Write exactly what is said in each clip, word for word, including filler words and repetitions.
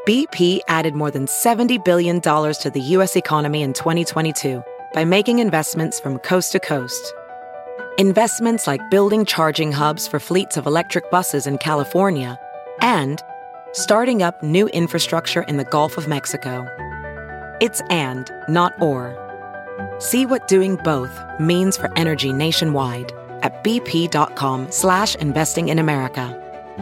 B P added more than seventy billion dollars to the U S economy in twenty twenty-two by making investments from coast to coast. Investments like building charging hubs for fleets of electric buses in California and starting up new infrastructure in the Gulf of Mexico. It's and, not or. See what doing both means for energy nationwide at bp.com slash investing in America.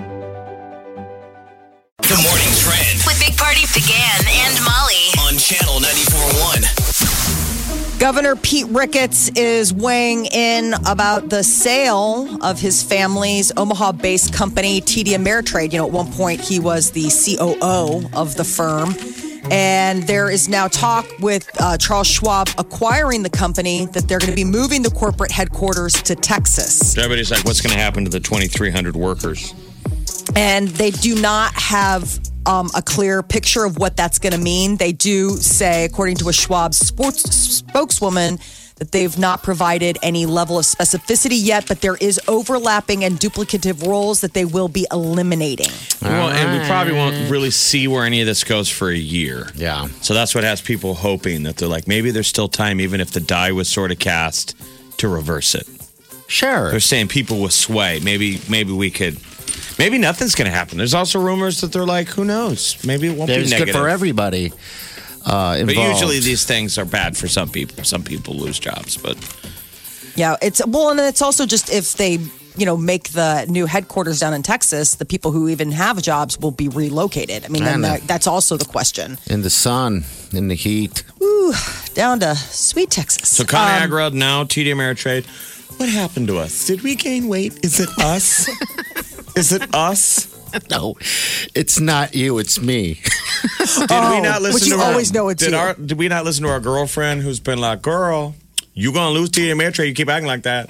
The Morning Trend with Big Party began and Molly on Channel ninety-four point one. Governor Pete Ricketts is weighing in about the sale of his family's Omaha-based company, T D Ameritrade. You know, at one point he was the C O O of the firm. And there is now talk with uh, Charles Schwab acquiring the company that they're going to be moving the corporate headquarters to Texas. Everybody's like, what's going to happen to the twenty-three hundred workers? And they do not have um, a clear picture of what that's going to mean. They do say, according to a Schwab sports spokeswoman, that they've not provided any level of specificity yet, but there is overlapping and duplicative roles that they will be eliminating. Well, and we probably won't really see where any of this goes for a year. Yeah. So that's what has people hoping that they're like, maybe there's still time, even if the die was sort of cast, to reverse it. Sure. They're saying people with sway. Maybe, maybe we could. Maybe nothing's going to happen. There's also rumors that they're like, who knows? Maybe it won't It's be negative. good for everybody uh, involved. But usually these things are bad for some people. Some people lose jobs, but Yeah, it's well, and it's also just if they, you know, make the new headquarters down in Texas, the people who even have jobs will be relocated. I mean, then that, that's also the question. In the sun, in the heat. Ooh, down to sweet Texas. So ConAgra, um, now T D Ameritrade. What happened to us? Did we gain weight? Is it us? Is it us? No, it's not you. It's me. Did oh, we not listen which you to our, always know it's did you. Our, did we not listen to our girlfriend who's been like, girl, you going to lose T D Ameritrade. You keep acting like that.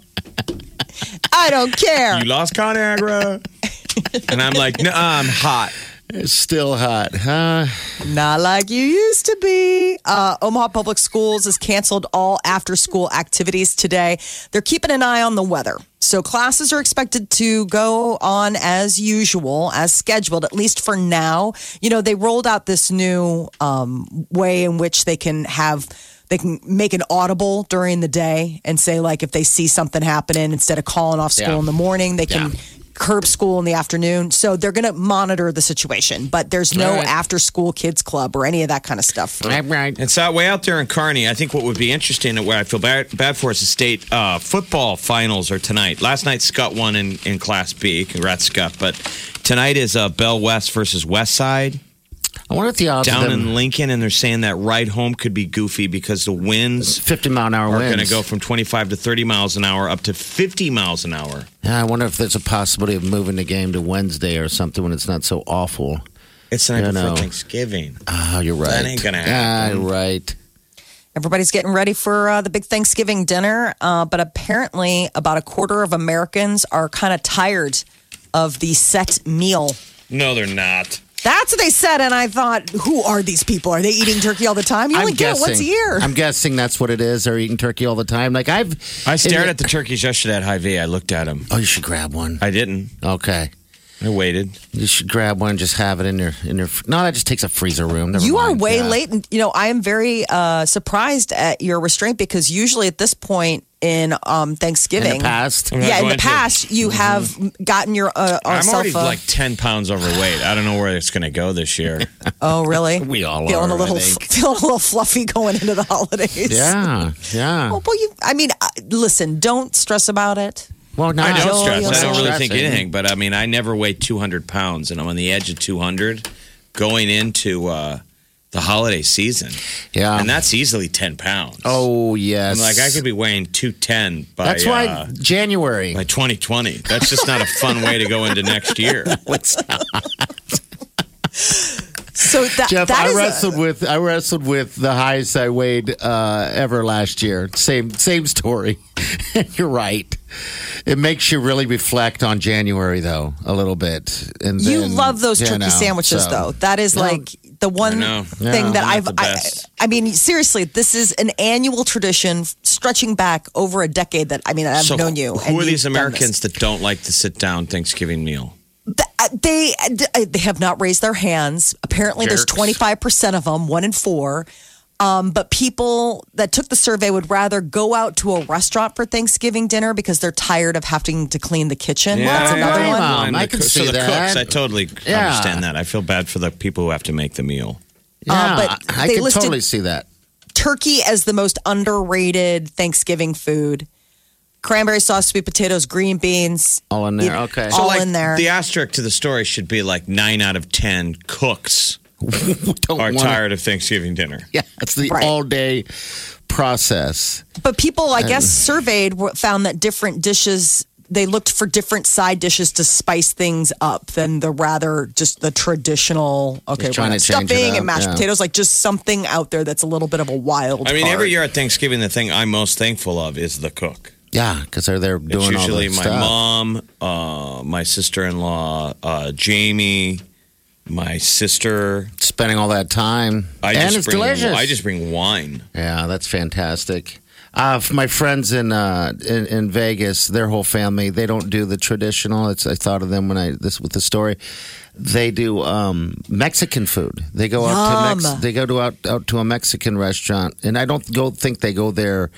I don't care. You lost ConAgra. And I'm like, no, I'm hot. It's still hot, huh? Not like you used to be. Uh, Omaha Public Schools has canceled all after-school activities today. They're keeping an eye on the weather. So classes are expected to go on as usual, as scheduled, at least for now. You know, they rolled out this new um, way in which they can have... They can make an audible during the day and say, like, if they see something happening, instead of calling off school Yeah. in the morning, they can... Yeah. curb school in the afternoon. So they're going to monitor the situation, but there's no Right. after school kids club or any of that kind of stuff. Right. It's that way out there in Kearney. I think what would be interesting, and where I feel bad, bad for is the state uh, football finals are tonight. Last night, Scott won in, in Class B. Congrats, Scott. But tonight is uh, Bell West versus West Side. I wonder if the odds Down of them, in Lincoln, and they're saying that ride home could be goofy because the winds fifty mile an hour are winds going to go from twenty-five to thirty miles an hour up to fifty miles an hour. Yeah, I wonder if there's a possibility of moving the game to Wednesday or something when it's not so awful. It's the night You before know. Thanksgiving. Oh, you're right. That ain't gonna happen. Ah, right. Everybody's getting ready for uh, the big Thanksgiving dinner, uh, but apparently about a quarter of Americans are kind of tired of the set meal. No, they're not. That's what they said, and I thought, who are these people? Are they eating turkey all the time? You only I'm get guessing. it once a year. I'm guessing that's what it is. They're eating turkey all the time. Like I've, I stared in at the turkeys yesterday at Hy-Vee. I looked at them. Oh, you should grab one. I didn't. Okay, I waited. you should grab one. And just have it in your in your. No, that just takes a freezer room. Never You are mind. way Yeah. late, and you know I am very uh, surprised at your restraint because usually at this point in um, Thanksgiving, In the past, I'm not yeah, in the going to. past you have gotten your uh, I'm yourself already a- like ten pounds overweight. I don't know where it's going to go this year. Oh, really? We all feeling are, a little I think. feeling a little fluffy going into the holidays. yeah, yeah. Oh, well, you. I mean, uh, listen. Don't stress about it. Well, no, I don't Joel, stress. you're I don't really stressing. think anything. But I mean, I never weighed two hundred pounds, and I'm on the edge of two hundred going into uh, the holiday season. Yeah, And that's easily ten pounds. Oh yes. I'm like, I could be weighing two ten by, That's why uh, January. by twenty twenty. That's just not a fun way to go into next year. What's So that, Jeff, that I is a- wrestled with I wrestled with the highest I weighed uh, ever last year. Same same story. You're right. It makes you really reflect on January though a little bit. And you then, love those you turkey know, sandwiches, so- though. That is No. like the one I know. thing Yeah. that Not I've. the I, best. I mean, seriously, this is an annual tradition stretching back over a decade. That I mean, I've So known you. Who and are you've these done this. Americans that don't like the sit down Thanksgiving meal? They they have not raised their hands. Apparently, Jerks. there's twenty-five percent of them, one in four. Um, but people that took the survey would rather go out to a restaurant for Thanksgiving dinner because they're tired of having to clean the kitchen. Yeah, That's another yeah, one. yeah. And I the can coo- see so the that. cooks, I totally Yeah. understand that. I feel bad for the people who have to make the meal. Yeah, Uh, but I they can listed- totally see that. Turkey as the most underrated Thanksgiving food. Cranberry sauce, sweet potatoes, green beans. All in there, You- okay. All like, in there. The asterisk to the story should be like nine out of ten cooks Don't are wanna- tired of Thanksgiving dinner. Yeah, it's the Right. all day process. But people, I guess, surveyed w- found that different dishes, they looked for different side dishes to spice things up than the rather just the traditional, okay, Just trying we're to change it stuffing up, and mashed yeah. potatoes, like just something out there that's a little bit of a wild I mean, card. every year at Thanksgiving, the thing I'm most thankful of is the cook. Yeah, because they're there It's doing all usually the my stuff. mom, uh, my sister-in-law, uh, Jamie, my sister. Spending all that time. I and just it's bring, delicious. I just bring wine. Yeah, that's fantastic. Uh, for my friends in, uh, in in Vegas, their whole family, they don't do the traditional. It's I thought of them when I this with the story. They do um, Mexican food. They go out to Yum. Mex- they go to out out to a Mexican restaurant, and I don't go think they go there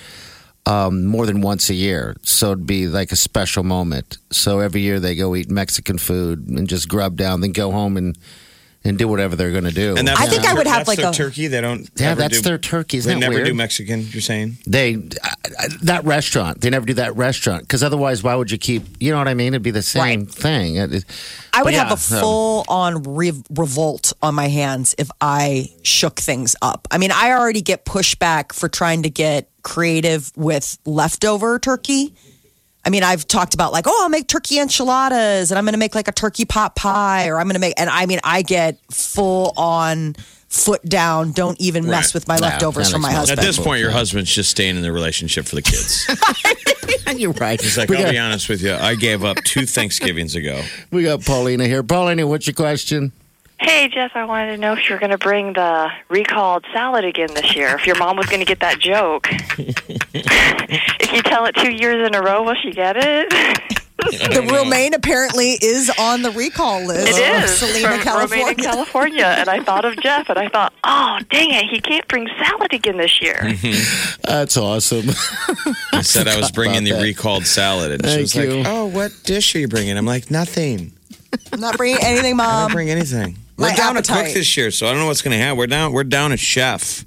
um, more than once a year. So it'd be like a special moment. So every year they go eat Mexican food and just grub down, then go home and and do whatever they're going to do. And that's I think their- I would have that's like their a- turkey. They don't. Yeah, ever that's do- their turkey. Isn't They that never weird? do Mexican. You're saying? They uh, that restaurant. They never do that restaurant because otherwise, why would you keep? You know what I mean? It'd be the same Right. thing. It- it- I would but have yeah, a so- full on re- revolt on my hands if I shook things up. I mean, I already get pushback for trying to get creative with leftover turkey. I mean, I've talked about like, oh, I'll make turkey enchiladas and I'm going to make like a turkey pot pie or I'm going to make, and I mean, I get full on foot down. Don't even mess Right. with my Yeah, leftovers that from my makes no husband. At this point, your husband's just staying in the relationship for the kids. You're right. He's like, we, I'll got, be honest with you. I gave up two Thanksgivings ago. we got Paulina here. Paulina, what's your question? Hey, Jeff, I wanted to know if you're going to bring the recalled salad again this year. If your mom was going to get that joke. If you tell it two years in a row, will she get it? The romaine apparently is on the recall list. It of is Selena, from California. Romaine, California. And I thought of Jeff, and I thought, oh, dang it, he can't bring salad again this year. That's awesome. I said I was bringing the about that. recalled salad, and she Thank was you. like, "Oh, what dish are you bringing?" I'm like, "Nothing. I'm not bringing anything, I don't Mom. bring anything. My We're down to appetite. cook this year, so I don't know what's going to happen. We're down. We're down a chef.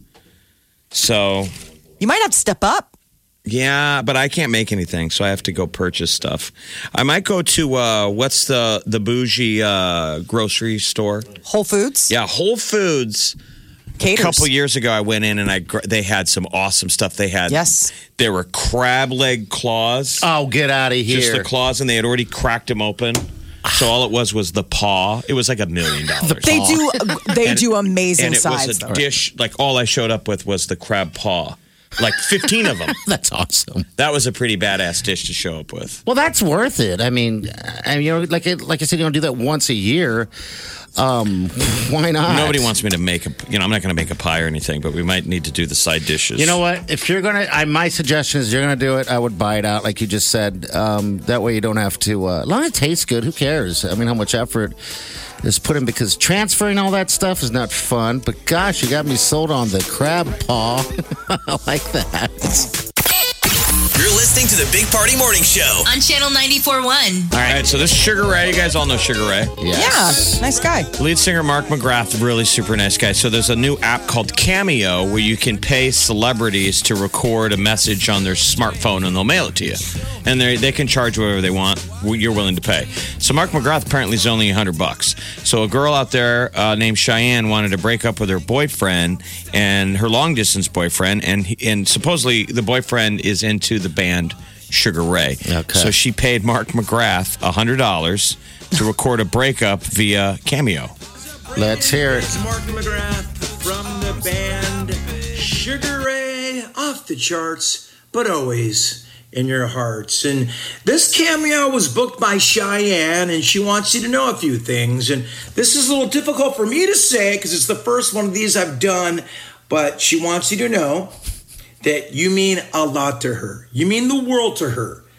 So You might have to step up. yeah, but I can't make anything, so I have to go purchase stuff. I might go to uh, what's the the bougie uh, grocery store? Whole Foods. Yeah, Whole Foods. Caters. A couple years ago, I went in and I gr- they had some awesome stuff. They had Yes. there were crab leg claws, Oh, get out of here. just the claws, and they had already cracked them open. So all it was was the paw. It was like a million dollars. They do. They And- do amazing and it sides. was a though. dish. Like all I showed up with was the crab paw, like fifteen of them. That's awesome. That was a pretty badass dish to show up with. Well, that's worth it. I mean, I mean, you know, like it, like I said, you don't do that once a year. Um, why not? Nobody wants me to make a. You know, I'm not going to make a pie or anything, but we might need to do the side dishes. You know what? If you're gonna, I, my suggestion is you're gonna do it. I would buy it out, like you just said. Um, that way you don't have to. Uh, as long as it tastes good, who cares? I mean, how much effort is put in? Because transferring all that stuff is not fun. But gosh, you got me sold on the crab paw. I like that. You're listening to the Big Party Morning Show. On Channel ninety-four point one. All right, so this is Sugar Ray. You guys all know Sugar Ray. Yes. Yeah, nice guy. Lead singer Mark McGrath, really super nice guy. So there's a new app called Cameo where you can pay celebrities to record a message on their smartphone and they'll mail it to you. And they they can charge whatever they want. You're willing to pay. So Mark McGrath apparently is only a hundred bucks. So a girl out there uh, named Cheyenne wanted to break up with her boyfriend and her long distance boyfriend, and he- and supposedly the boyfriend is into the band Sugar Ray. Okay. So she paid Mark McGrath a hundred dollars to record a breakup via Cameo. Let's hear it. It's Mark McGrath from the band Sugar Ray, off the charts, but always in your hearts. And this cameo was booked by Cheyenne, and she wants you to know a few things. And this is a little difficult for me to say because it's the first one of these I've done, but she wants you to know that you mean a lot to her. You mean the world to her.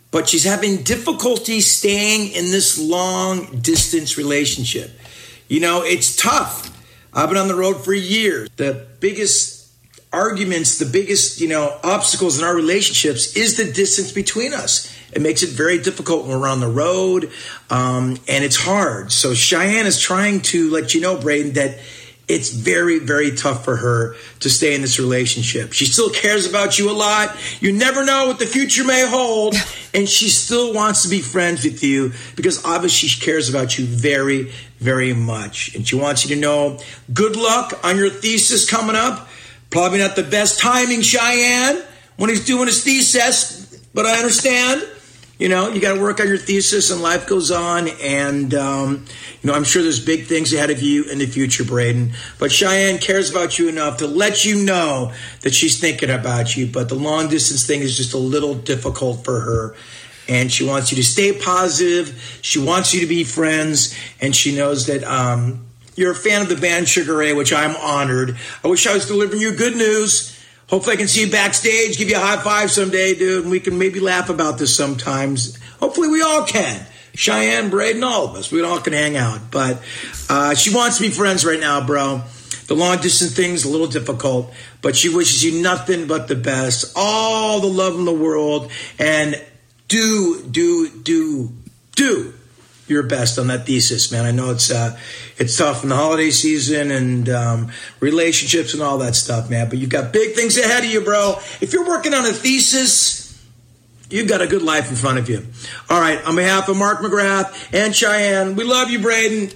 but she's having difficulty staying in this long distance relationship. You know, it's tough. I've been on the road for years. The biggest arguments, the biggest, you know, obstacles in our relationships is the distance between us. It makes it very difficult when we're on the road, um, and it's hard. So Cheyenne is trying to let you know, Braden, that it's very, very tough for her to stay in this relationship. She still cares about you a lot. You never know what the future may hold, and she still wants to be friends with you because obviously she cares about you very, very much. And she wants you to know, good luck on your thesis coming up. Probably not the best timing, Cheyenne, when he's doing his thesis, but I understand. You know, you got to work on your thesis and life goes on. And, um, you know, I'm sure there's big things ahead of you in the future, Braden. But Cheyenne cares about you enough to let you know that she's thinking about you. But the long distance thing is just a little difficult for her. And she wants you to stay positive. She wants you to be friends. And she knows that um, you're a fan of the band Sugar Ray, which I'm honored. I wish I was delivering you good news. Hopefully I can see you backstage, give you a high five someday, dude, and we can maybe laugh about this sometimes. Hopefully we all can. Cheyenne, Braden, all of us. We all can hang out. But uh, she wants to be friends right now, bro. The long-distance thing's a little difficult, but she wishes you nothing but the best. All the love in the world. And do, do, do, do your best on that thesis, man. I know it's uh, it's tough in the holiday season and um, relationships and all that stuff, man. But you've got big things ahead of you, bro. If you're working on a thesis, you've got a good life in front of you. All right, on behalf of Mark McGrath and Cheyenne, we love you, Braden.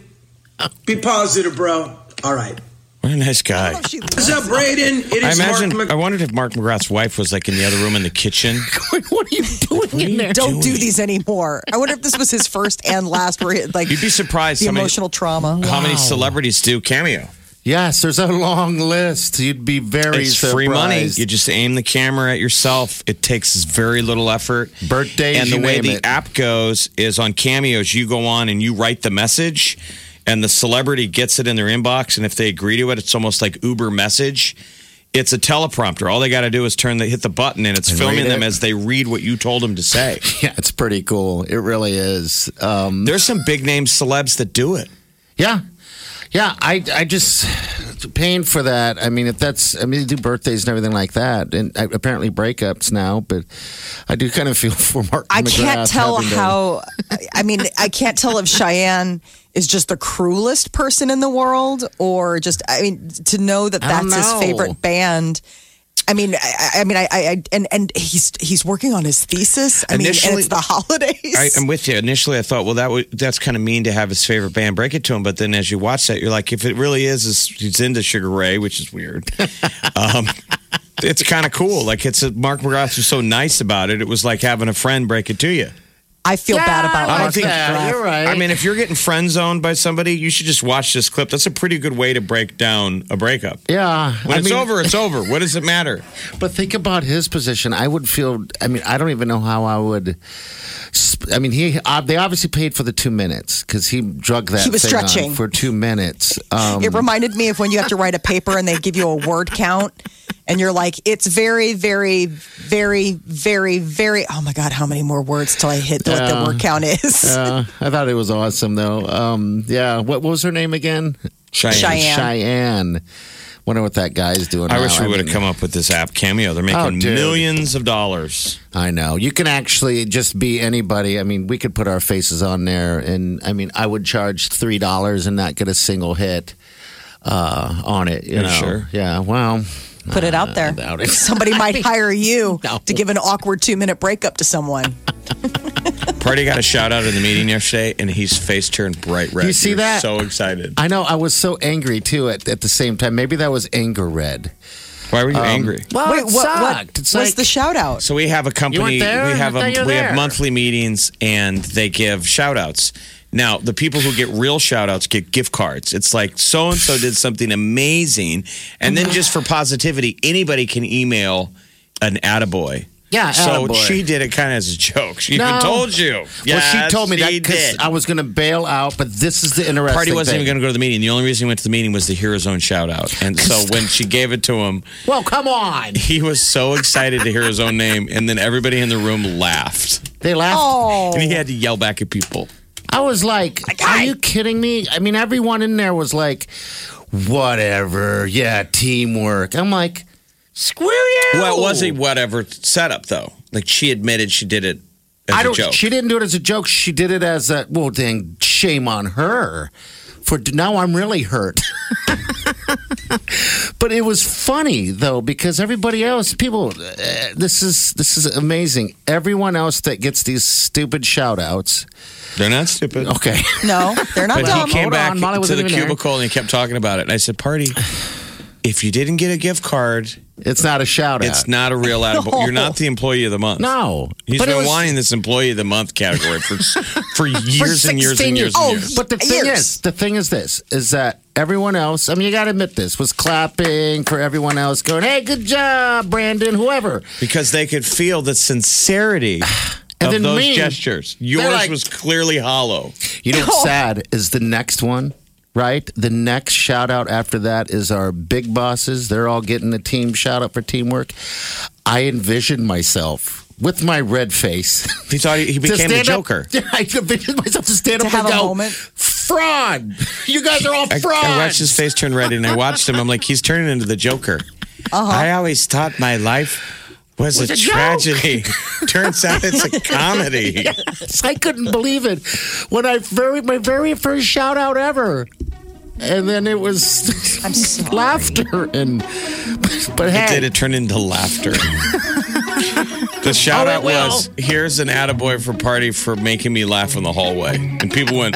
Be positive, bro. All right. What a nice guy. What's up, Braden? It I is imagine. Mark Mc- I wondered if Mark McGrath's wife was like in the other room in the kitchen. What are you doing in there? Don't do these anymore. I wonder if this was his first and last where he, like You'd be surprised the how many- emotional trauma. How many celebrities do cameo? Yes, there's a long list. You'd be very It's surprised. free money. You just aim the camera at yourself. It takes very little effort. Birthdays, and the you way name the it. app goes is on Cameos. You go on and you write the message, and the celebrity gets it in their inbox. And if they agree to it, it's almost like Uber Message. It's a teleprompter. All they got to do is turn the hit the button, and it's And filming read them it. as they read what you told them to say. Yeah, it's pretty cool. It really is. Um, There's some big name celebs that do it. yeah. Yeah, I, I just paying for that. I mean, if that's, I mean, they do birthdays and everything like that, and uh, apparently breakups now. But I do kind of feel for Mark. I can't McGrath tell having to- how. I mean, I can't tell if Cheyenne is just the cruelest person in the world, or just. I mean, to know that I don't that's his know. favorite band. I mean, I, I mean, I, I, and and he's he's working on his thesis. I mean, and Initially- it's the holidays. I, I'm with you. Initially, I thought, well, that would, that's kind of mean to have his favorite band break it to him. But then as you watch that, you're like, if it really is, is he's into Sugar Ray, which is weird. um, it's kind of cool. Like it's a, Mark McGrath was so nice about it. It was like having a friend break it to you. I feel Yeah, bad about I Mark like that. McGrath. You're right. I mean, if you're getting friend zoned by somebody, you should just watch this clip. That's a pretty good way to break down a breakup. Yeah, When I it's mean, over, it's over. What does it matter? But think about his position. I would feel. I mean, I don't even know how I would. sp- I mean, he. Uh, they obviously paid for the two minutes because he drug that. He was thing on stretching. for two minutes. Um, It reminded me of when you have to write a paper and they give you a word count, and you're like, it's very, very, very, very, very. Oh my god, how many more words till I hit what the Yeah. word count is? uh, I thought it was awesome though. Um, yeah. What, what was her name again? Cheyenne. Cheyenne. Cheyenne. Wonder what that guy's doing. I now. wish we would have mean, come up with this app, Cameo. They're Oh, making dude. millions of dollars. I know. You can actually just be anybody. I mean, we could put our faces on there, and I mean, I would charge three dollars and not get a single hit uh, on it. You Yeah, know? sure. Yeah. Well, Put it out there. I doubt it. Somebody might hire you No. to give an awkward two minute breakup to someone. Party got a shout out in the meeting yesterday, and his face turned bright red. You see He was that? So excited. I know. I was so angry too. At at the same time, maybe that was anger red. Why were you Um, angry? Well, Wait, it what, what sucked. It's was like- the shout out? So we have a company. You weren't there? We have I a thought you were we there. have monthly meetings, and they give shout outs. Now, the people who get real shout outs get gift cards. It's like so and so did something amazing, and then just for positivity, anybody can email an attaboy. Yeah, So attaboy. she did it kind of as a joke. She even No. told you. Well, she Yes, told me that she because did. I was going to bail out, but this is the interesting Party wasn't thing. even going to go to the meeting. The only reason he went to the meeting was to hear his own shout out. And so when she gave it to him, Well, come on. he was so excited to hear his own name. And then everybody in the room laughed. They laughed. Oh. And he had to yell back at people. I was like, are you kidding me? I mean, everyone in there was like, whatever. Yeah, teamwork. I'm like, screw you. Well, it was a whatever setup, though. Like, she admitted she did it as I a don't, joke. She didn't do it as a joke. She did it as a, well, dang, shame on her. For now, I'm really hurt. But it was funny though, because everybody else, people, uh, this is this is amazing. Everyone else that gets these stupid shout outs, they're not stupid. Okay, No, they're not But dumb. he came Hold back on, Molly to wasn't the even there. cubicle and he kept talking about it. And I said, Party, if you didn't get a gift card, it's not a shout out. it's not a real attaboy. You're not the employee of the month. No, He's but it been was- wanting this employee of the month category for for years and years and sixteen years Oh, and years. but the thing Years. is, the thing is this: is that everyone else? I mean, you got to admit this was clapping for everyone else, going, "Hey, good job, Brandon." Whoever. Because they could feel the sincerity And of then those me, gestures. Yours like- was clearly hollow. You know what's sad is the next one, right? The next shout out after that is our big bosses. They're all getting a team shout out for teamwork. I envisioned myself with my red face. He thought he, he to became the stand up- Joker. I envisioned myself to stand To up have and a go, moment. fraud. You guys are all I, frauds. I watched his face turn red and I watched him. I'm like, he's turning into the Joker. Uh-huh. I always thought my life was, Was a, a joke. tragedy. Turns out it's a comedy. Yes, I couldn't believe it when I very my very first shout out ever. And then it was I'm sorry. laughter and but It hey, did. It turned into laughter. The shout Oh, out it will. was, here's an attaboy for Party for making me laugh in the hallway. And people went,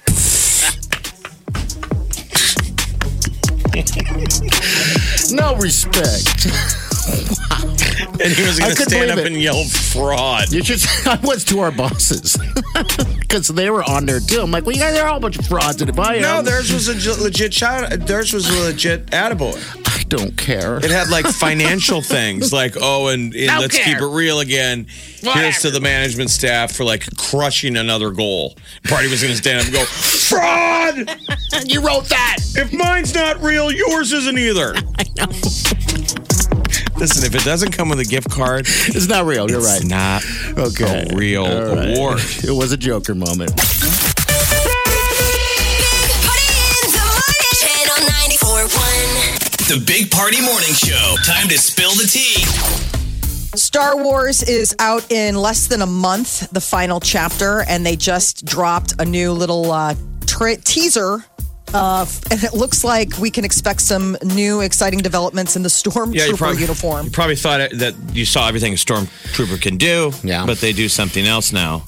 no respect. and he was I going to couldn't stand up believe it. and yell fraud. You just I was to our bosses because they were on there too. I'm like, well, you guys are all a bunch of frauds, and if I am, No, theirs was a j- legit shout. Theirs was a legit attaboy. I don't care. It had like financial things, like oh, and, and Don't let's care. keep it real again. Here's to the management staff for like crushing another goal. Party was going to stand up and go, fraud! You wrote that. If mine's not real, yours isn't either. I know. Listen, if it doesn't come with a gift card, It's not real. You're it's right. not Okay. a real All right. award. It was a Joker moment. Channel ninety-four point one. The Big Party Morning Show. Time to spill the tea. Star Wars is out in less than a month, the final chapter, and they just dropped a new little uh, tra- teaser. Uh, and it looks like we can expect some new exciting developments in the Stormtrooper Yeah, you probably, uniform. you probably thought it, that you saw everything a Stormtrooper can do, Yeah. but they do something else now.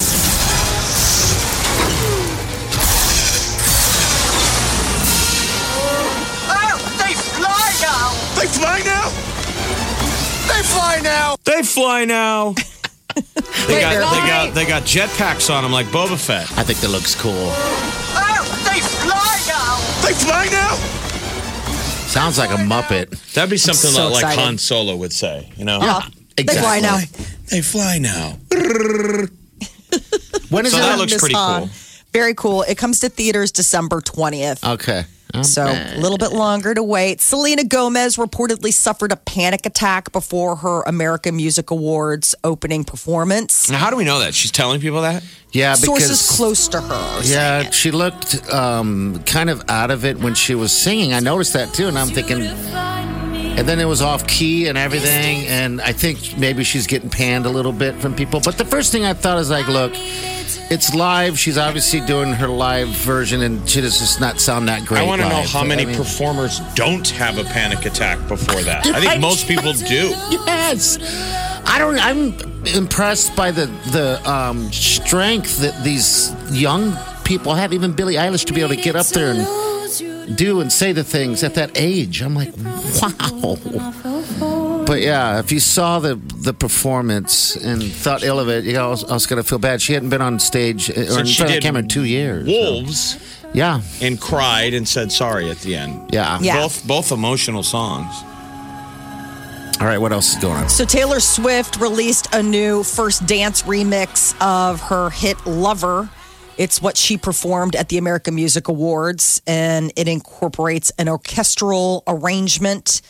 They fly now? They fly now! They fly now. they got they got they got jetpacks on them like Boba Fett. I think that looks cool. They fly now! They fly now? Sounds like a Muppet. That'd be something So that, like exciting. Han Solo would say, you know? Uh, They fly now. They fly now. When is So it? that on? looks Miss pretty Han. cool. Very cool. It comes to theaters December twentieth. Okay. So a little bit longer to wait. Selena Gomez reportedly suffered a panic attack before her American Music Awards opening performance. Now, how do we know that? She's telling people that? Yeah, because Sources close to her. are saying yeah, it. she looked um, kind of out of it when she was singing. I noticed that too, and I'm thinking. And then it was off key and everything, and I think maybe she's getting panned a little bit from people. But the first thing I thought is like, look, it's live. She's obviously doing her live version, and she does just not sound that great. I want to know live. how many I mean- performers don't have a panic attack before that. I Right. think most people do. Yes, I don't. I'm impressed by the the um, strength that these young people have. Even Billie Eilish to be able to get up there and do and say the things at that age. I'm like, wow. But yeah, if you saw the the performance and thought ill of it, you know, I was, I was going to feel bad. She hadn't been on stage or in Since she front of did the camera in two years. so- Wolves Yeah, and cried and said sorry at the end. yeah, Yeah. Both both emotional songs. All right, what else is going on? So Taylor Swift released a new First Dance remix of her hit Lover. It's what she performed at the American Music Awards, and it incorporates an orchestral arrangement.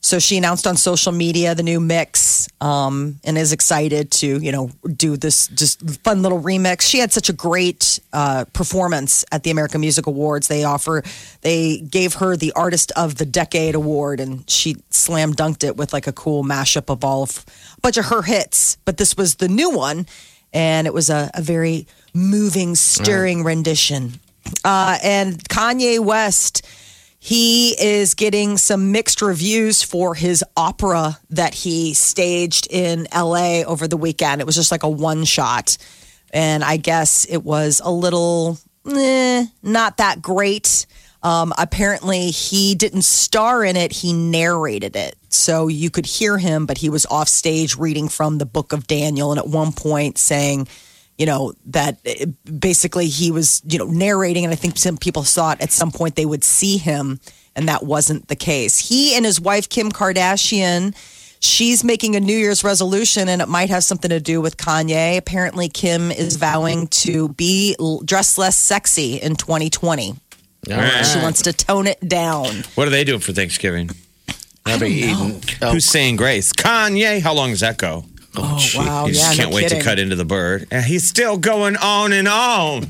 So she announced on social media the new mix um, and is excited to, you know, do this just fun little remix. She had such a great uh, performance at the American Music Awards. They offer, they gave her the Artist of the Decade award, and she slam dunked it with like a cool mashup of all of a bunch of her hits. But this was the new one, and it was a, a very moving, stirring right. rendition. Uh, and Kanye West. He is getting some mixed reviews for his opera that he staged in L A over the weekend. It was just like a one shot. And I guess it was a little, eh, not that great. Um, apparently, he didn't star in it. He narrated it. So you could hear him, but he was off stage reading from the book of Daniel. And at one point saying, you know, that basically he was, you know, narrating. And I think some people thought at some point they would see him. And that wasn't the case. He and his wife, Kim Kardashian, she's making a New Year's resolution, and it might have something to do with Kanye. Apparently, Kim is vowing to be dressed less sexy in twenty twenty. All right. She wants to tone it down. What are they doing for Thanksgiving? I'll be eating. Oh. Who's saying grace? Kanye. How long does that go? Oh, oh wow. You just yeah, can't no wait kidding. to cut into the bird. And he's still going on and on.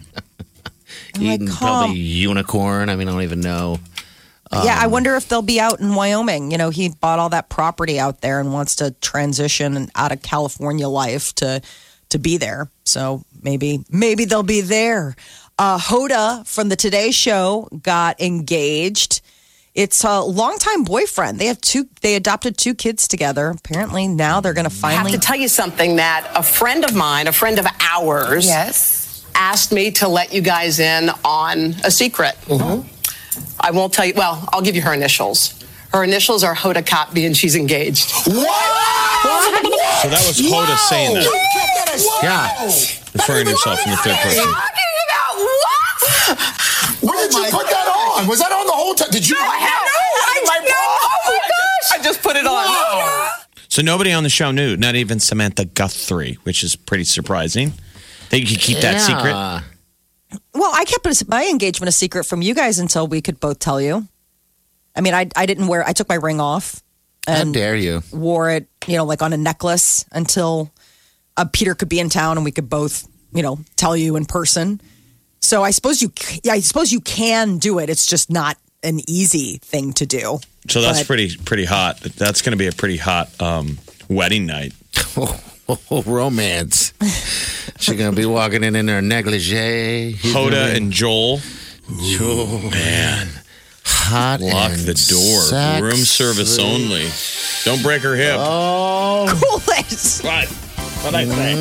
Eating like, probably unicorn. I mean, I don't even know. Um, yeah, I wonder if they'll be out in Wyoming. You know, he bought all that property out there and wants to transition out of California life to to be there. So maybe maybe they'll be there. Uh, Hoda from the Today Show got engaged. It's a longtime boyfriend. They have two. They adopted two kids together. Apparently, now they're going to finally. I have to tell you something that a friend of mine, a friend of ours, yes, asked me to let you guys in on a secret. Mm-hmm. I won't tell you. Well, I'll give you her initials. Her initials are Hoda Kotb, and she's engaged. What? So that was Hoda wow. saying that. Yeah, referring to herself in the third person. Talking about what? Where did oh you put that on? Was that on the whole time? Did you? No, I have no. I, my no. Oh my gosh! I just put it on. Wow. So nobody on the show knew, not even Samantha Guthrie, which is pretty surprising. That you could keep yeah. that secret. Well, I kept my engagement a secret from you guys until we could both tell you. I mean, I I didn't wear. I took my ring off. And How dare you? Wore it, you know, like on a necklace until uh, Peter could be in town and we could both, you know, tell you in person. So I suppose you, yeah, I suppose you can do it. It's just not an easy thing to do. So that's but, pretty pretty hot. That's going to be a pretty hot um, wedding night. Oh, oh, oh, romance. She's going to be walking in in her negligee. Hoda be... and Joel. Joel. Ooh, man. Hot Lock and the door. Sexy. Room service only. Don't break her hip. Oh. Cool it. What? What'd I say?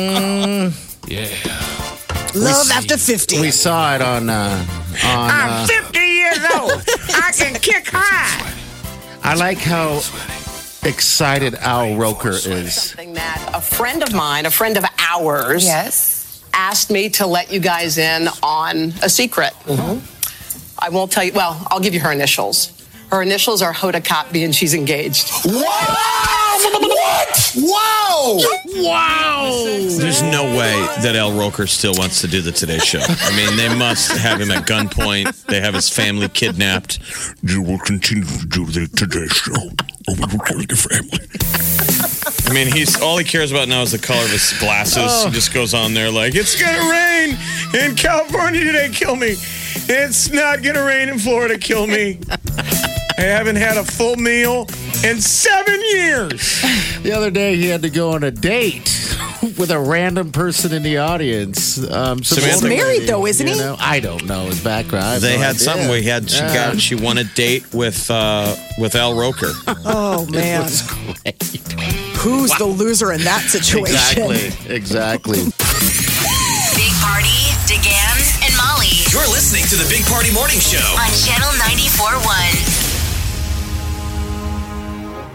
Mm, yeah. Love we, after fifty. We saw it on... Uh, on I'm uh, fifty years old. I can kick high. I like how excited Al Roker is. Something that a friend of mine, a friend of ours, yes, asked me to let you guys in on a secret. Mm-hmm. I won't tell you. Well, I'll give you her initials. Her initials are Hoda Kotb, and she's engaged. Wow! What? Wow! Wow! There's no way that Al Roker still wants to do the Today Show. I mean, they must have him at gunpoint. They have his family kidnapped. You will continue to do the Today Show, or we will kill your family. I mean, he's all he cares about now is the color of his glasses. Oh. He just goes on there like, it's gonna rain in California today, kill me. It's not gonna rain in Florida, kill me. I haven't had a full meal in seven years. The other day, he had to go on a date with a random person in the audience. Um, He's married, though, isn't you he? Know? I don't know his background. They no had idea. something. We had she yeah. got she won a date with uh, with Al Roker. Oh man, it was great. Who's wow. the loser in that situation? Exactly. Exactly. Big Party, DeGan, and Molly. You're listening to the Big Party Morning Show On Channel ninety-four point one.